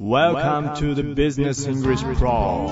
Welcome to the Business English Pro。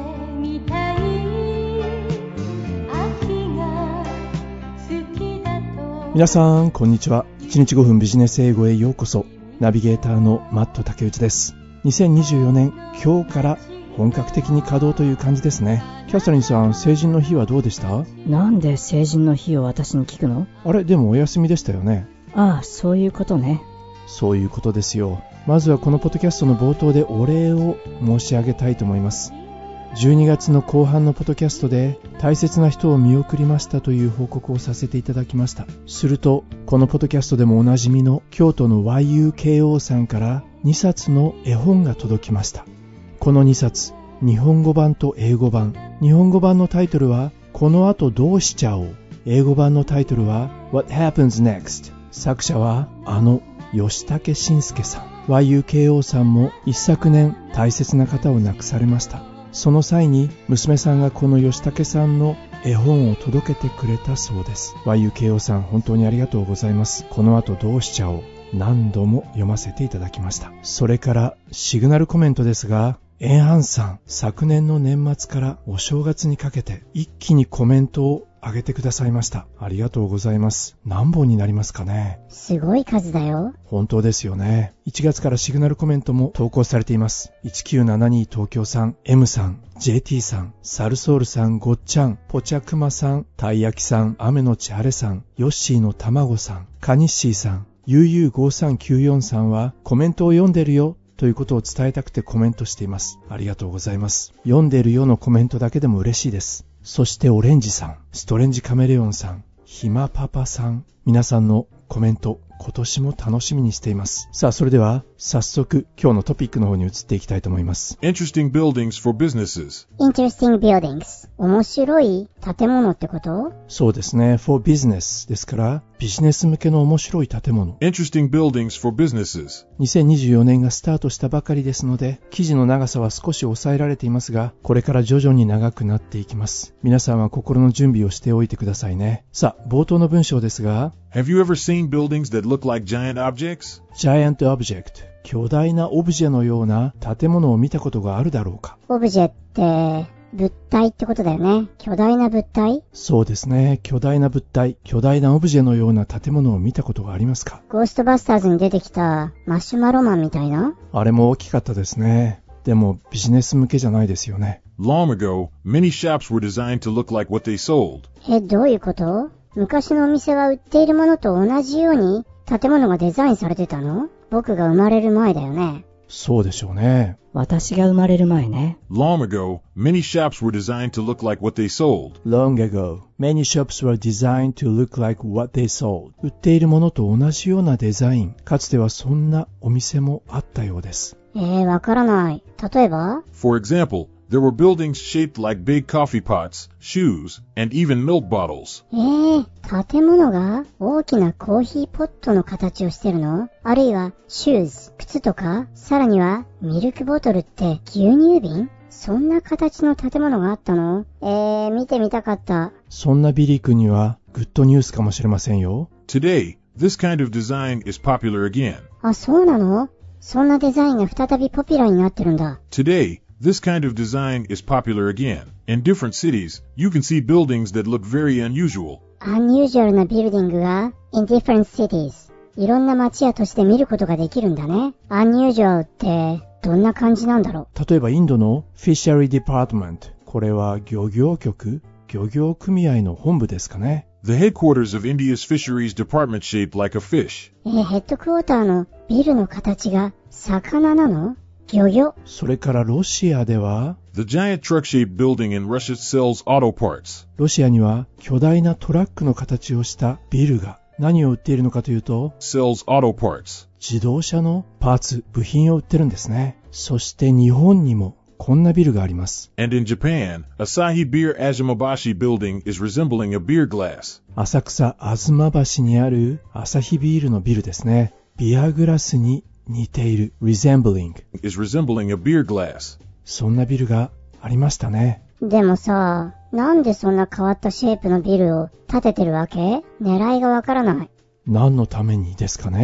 皆さんこんにちは。1日5分ビジネス英語へようこそ。ナビゲーターのマット竹内です。2024年今日から本格的に稼働という感じですね。キャサリンさん、成人の日はどうでした？ なんで成人の日を私に聞くの？ あれ、でもお休みでしたよね。 ああ、そういうことね。 そういうことですよ。まずはこのポッドキャストの冒頭でお礼を申し上げたいと思います。12月の後半のポッドキャストで大切な人を見送りましたという報告をさせていただきました。するとこのポッドキャストでもおなじみの京都の YUKO さんから2冊の絵本が届きました。この2冊、日本語版と英語版。日本語版のタイトルはこの後どうしちゃおう。英語版のタイトルは What Happens Next。 作者は吉武慎介さん。YUKO さんも一昨年大切な方を亡くされました。その際に娘さんがこの吉武さんの絵本を届けてくれたそうです。 YUKO さん、本当にありがとうございます。この後どうしちゃおう、何度も読ませていただきました。それからシグナルコメントですが、エンハンさん、昨年の年末からお正月にかけて一気にコメントを上げてくださいました。ありがとうございます。何本になりますかね？ すごい数だよ。 本当ですよね。1月からシグナルコメントも投稿されています。1972東京さん、M さん、JT さん、サルソールさん、ごっちゃん、ポチャクマさん、たいやきさん、雨のち晴れさん、ヨッシーのたまごさん、カニッシーさん、UU5394 さんはコメントを読んでるよということを伝えたくてコメントしています。ありがとうございます。読んでるよのコメントだけでも嬉しいです。そしてオレンジさん、ストレンジカメレオンさん、ひまパパさん、皆さんのコメント、今年も楽しみにしています。さあ、それでは早速今日のトピックの方に移っていきたいと思います。 Interesting buildings for businesses. Interesting buildings。面白い建物ってこと？ そうですね。for business ですからビジネス向けの面白い建物。 Interesting buildings for businesses. 2024年がスタートしたばかりですので、記事の長さは少し抑えられていますが、これから徐々に長くなっていきます。皆さんは心の準備をしておいてくださいね。さあ、冒頭の文章ですが、 Have you ever seen buildings that look like giant objects? Giant object、 巨大なオブジェのような建物を見たことがあるだろうか。 オブジェって物体ってことだよね。巨大な物体？ そうですね。巨大な物体、巨大なオブジェのような建物を見たことがありますか？ ゴーストバスターズに出てきたマシュマロマンみたいな？ あれも大きかったですね。でもビジネス向けじゃないですよね。 Long ago, many shops were designed to look like what they sold. どういうこと？昔のお店は売っているものと同じように建物がデザインされてたの？僕が生まれる前だよね。 そうでしょうね。 私が生まれる前ね。 Long ago, many shops were designed to look like what they sold. Long ago, many shops were designed to look like what they sold. 売っているものと同じようなデザイン。かつてはそんなお店もあったようです。 わからない。例えば？ For example, there were buildings shaped like big coffee pots, shoes, and even milk bottles. 建物が大きなコーヒーポットの形をしてるの？あるいはシューズ、靴とか、さらにはミルクボトルって牛乳瓶？そんな形の建物があったの？見てみたかった。 そんなビリー君にはグッドニュースかもしれませんよ。 Today, this kind of design is popular again. あ、そうなの？そんなデザインが再びポピュラーになってるんだ。 Today, this kind of design is popular again. In different cities, you can see buildings that look very unusual. unusual なビルディングが in different cities。いろんな街や都市で見ることができるんだね。unusual ってどんな感じなんだろう？ 例えばインドの Fishery Department。これは漁業局？漁業組合の本部ですかね。 The headquarters of India's fisheries department shaped like a fish. ヘッドクォーターのビルの形が魚なの？漁業？ それからロシアでは The giant truck-shaped building in Russia sells auto parts. ロシアには巨大なトラックの形をしたビルが何を売っているのかというと Sells auto parts. 自動車のパーツ、部品を売ってるんですね。そして日本にもこんなビルがあります。 And in Japan, Asahi Beer Azumabashi building is resembling a beer glass. 浅草吾妻橋にあるアサヒビールのビルですね。ビアグラスに似ている resembling is resembling a beer glass. そんなビルがありましたね。 でもさ、なんでそんな変わったシェイプのビルを建ててるわけ？狙いがわからない。 何のためにですかね。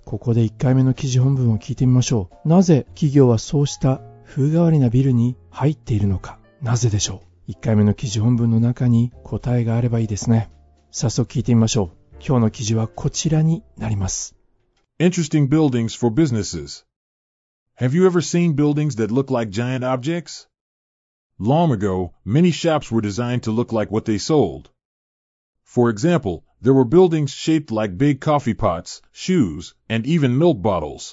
ここで1回目の記事本文を聞いてみましょう。なぜ企業はそうした風変わりなビルに入っているのか。なぜでしょう。1回目の記事本文の中に答えがあればいいですね。早速聞いてみましょう。今日の記事はこちらになります。 Interesting buildings for businesses. Have you ever seen buildings that look like giant objects? Long ago, many shops were designed to look like what they sold. For example, there were buildings shaped like big coffee pots, shoes, and even milk bottles.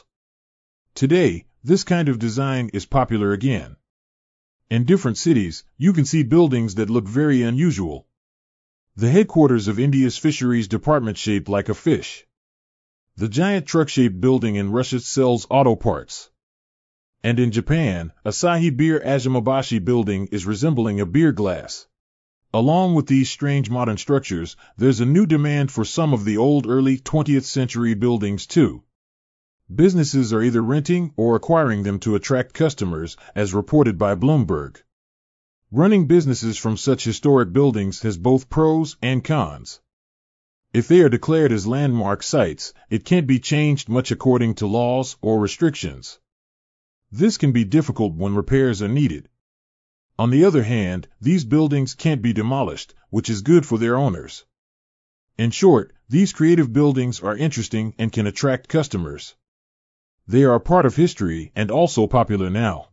Today, this kind of design is popular again. In different cities, you can see buildings that look very unusual. The headquarters of India's fisheries department shaped like a fish. The giant truck-shaped building in Russia sells auto parts. And in Japan, Asahi Beer Azumabashi building is resembling a beer glass. Along with these strange modern structures, there's a new demand for some of the old early 20th century buildings too. Businesses are either renting or acquiring them to attract customers, as reported by Bloomberg. Running businesses from such historic buildings has both pros and cons. If they are declared as landmark sites, it can't be changed much according to laws or restrictions. This can be difficult when repairs are needed. On the other hand, these buildings can't be demolished, which is good for their owners. In short, these creative buildings are interesting and can attract customers. They are a part of history and also popular now.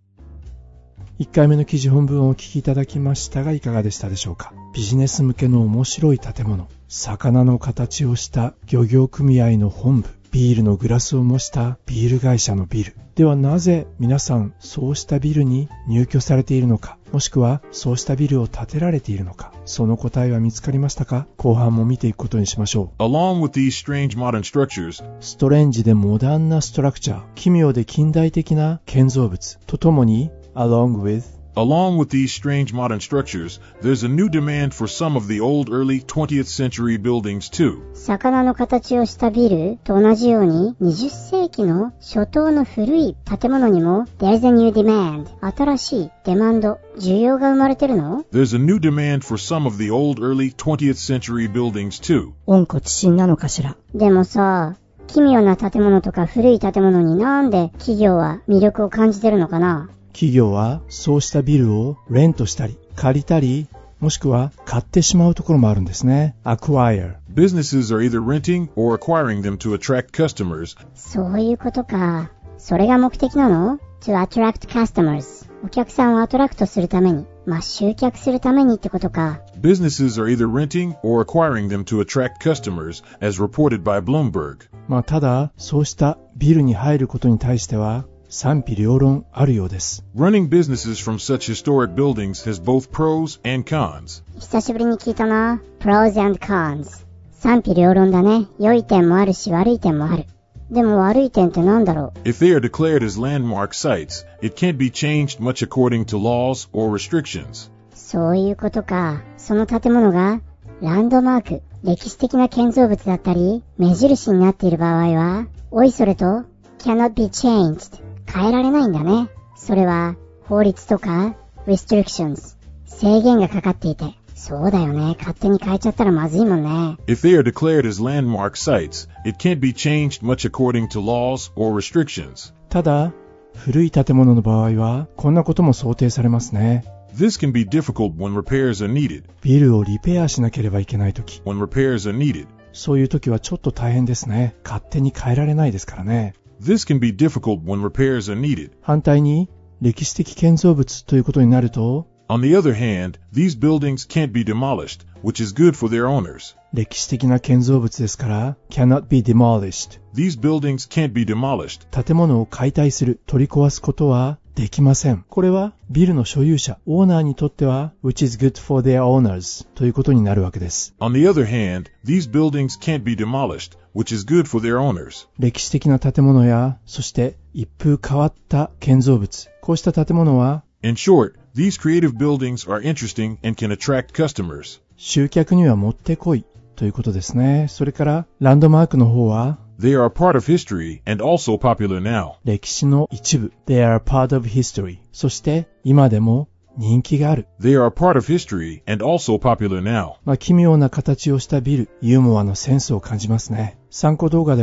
1回目の記事本文をお聞きいただきましたがいかがでしたでしょうか。ビジネス向けの面白い建物、魚の形をした漁業組合の本部、ビールのグラスを模したビール会社のビル。ではなぜ皆さんそうしたビルに入居されているのか、もしくはそうしたビルを建てられているのか、その答えは見つかりましたか。後半も見ていくことにしましょう。 Along with these strange modern structures, ストレンジでモダンなストラクチャー、奇妙で近代的な建造物とともにAlong with these strange modern structures, there's a new demand for some of the old early 20th century buildings too. 魚の形をしたビルと同じように20世紀の初頭の古い建物にも There's a new demand 新しいデマンド需要が生まれてるの。 There's a new demand for some of the old early 20th century buildings too. 温故知新なのかしら。 でもさ、奇妙な建物とか古い建物になんで企業は魅力を感じてるのかな。 企業はそうしたビルをレントしたり借りたりもしくは買ってしまうところもあるんですね。Acquire. Businesses are either renting or acquiring them to attract customers. そういうことか。それが目的なの？ To attract customers. お客さんをアトラクトするために、集客するためにってことか。 Businesses are either renting or acquiring them to attract customers, as reported by Bloomberg. ただそうしたビルに入ることに対しては賛否両論あるようです。 Running businesses from such historic buildings has both pros and cons. 久しぶりに聞いたな。Pros and cons。賛否両論だね。良い点もあるし悪い点もある。でも悪い点ってなんだろう。 If they are declared as landmark sites, it can't be changed much according to laws or restrictions. そういうことか。その建物がランドマーク、歴史的な建造物だったり、目印になっている場合は、おいそれと cannot be changed。変えられないんだね。それは法律とか restrictions 制限がかかっていて、そうだよね。勝手に変えちゃったらまずいもんね。 If they are declared as landmark sites, it can't be changed much according to laws or restrictions. ただ古い建物の場合はこんなことも想定されますね。 This can be difficult when repairs are needed. ビルをリペアしなければいけないとき、 When repairs are needed. そういうときはちょっと大変ですね。勝手に変えられないですからね。 This can be difficult when repairs are needed. 反対に歴史的建造物ということになると On the other hand, these buildings can't be demolished, which is good for their owners. 歴史的な建造物ですから cannot be demolished. These buildings can't be demolished. 建物を解体する、取り壊すことはできません。これはビルの所有者、オーナーにとっては which is good for their owners ということになるわけです。 On the other hand, these buildings can't be demolished, which is good for their owners. 歴史的な建物や、そして一風変わった建造物、こうした建物は In short, these creative buildings are interesting and can attract customers. 集客にはもってこいということですね。それからランドマークの方は They are a part of history and also popular now. 歴史の一部。They are a part of history. そして今でも人気がある。 They are a part of history and also popular now. 奇妙な形をしたビル、ユーモアのセンスを感じますね。参考動画では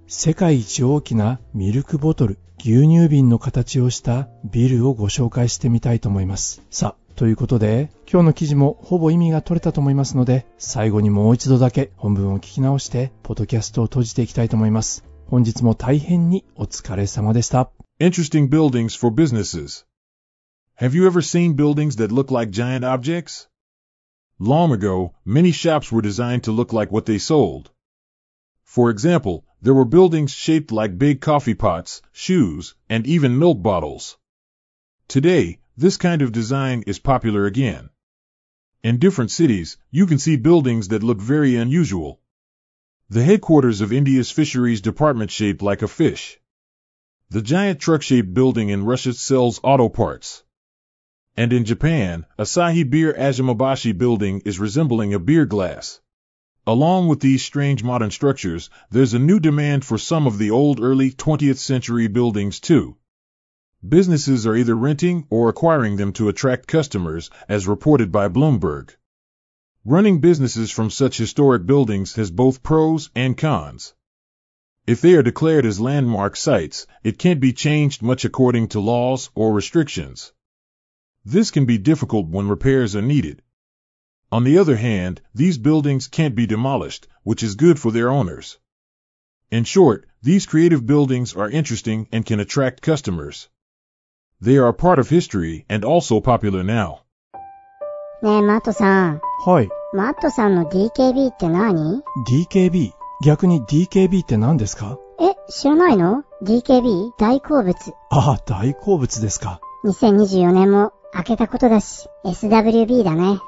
世界一大きなミルクボトル、牛乳瓶の形をしたビルをご紹介してみたいと思います。さあ、ということで、今日の記事もほぼ意味が取れたと思いますので、最後にもう一度だけ本文を聞き直して、ポッドキャストを閉じていきたいと思います。本日も大変にお疲れ様でした。 Interesting buildings for businesses. Have you ever seen buildings that look like giant objects? Long ago, many shops were designed to look like what they sold. For example, there were buildings shaped like big coffee pots, shoes, and even milk bottles. Today, this kind of design is popular again. In different cities, you can see buildings that look very unusual. The headquarters of India's fisheries department shaped like a fish. The giant truck-shaped building in Russia sells auto parts. And in Japan, Asahi Beer Azumabashi building is resembling a beer glass. Along with these strange modern structures, there's a new demand for some of the old early 20th century buildings too. Businesses are either renting or acquiring them to attract customers, as reported by Bloomberg. Running businesses from such historic buildings has both pros and cons. If they are declared as landmark sites, it can't be changed much according to laws or restrictions. This can be difficult when repairs are needed. On the other hand, these buildings can't be demolished, which is good for their owners. In short, these creative buildings are interesting and can attract customers. They are a part of history and also popular now. ねえ、マットさん。 はい。 マットさんの DKB って何？ DKB？ 逆に DKB って何ですか？ 知らないの？ DKB 大好物。 ああ、大好物ですか。 2024年も明けたことだし、SWB だね。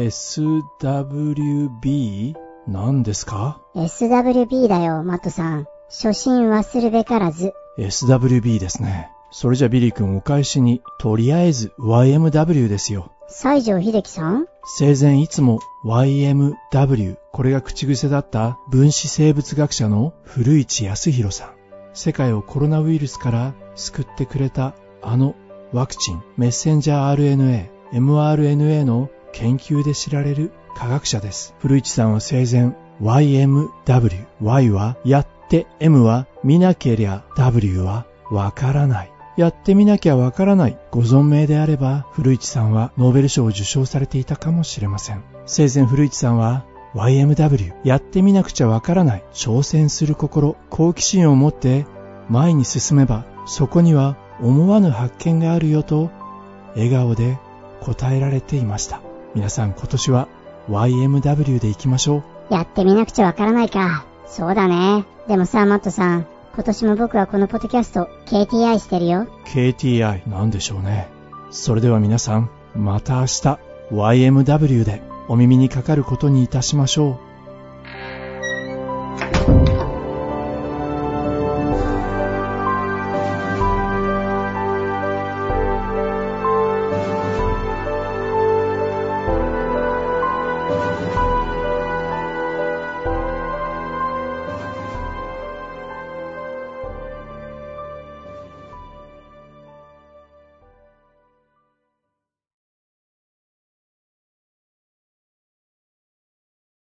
SWB？ 何ですか？ SWB だよ、マットさん。初心忘るべからず。 SWB ですね。それじゃビリー君お返しに、とりあえず YMW ですよ。 西城秀樹さん？ 生前いつも YMW、これが口癖だった分子生物学者の古市康弘さん。世界をコロナウイルスから救ってくれたあのワクチン、メッセンジャー RNA、mRNA の研究で知られる科学者です。古市さんは生前 YMW、Y はやって、M は見なけりゃ、W はわからない。やってみなきゃわからない。ご存命であれば、古市さんはノーベル賞を受賞されていたかもしれません。生前古市さんは YMW、やってみなくちゃわからない。挑戦する心、好奇心を持って前に進めば、そこには思わぬ発見があるよと笑顔で答えられていました。皆さん今年は YMW で行きましょう。 やってみなくちゃわからないか。そうだね。でもさ、マットさん、今年も僕はこのポッドキャスト KTI してるよ。 KTI なんでしょうね。それでは皆さん、また明日 YMW でお耳にかかることにいたしましょう。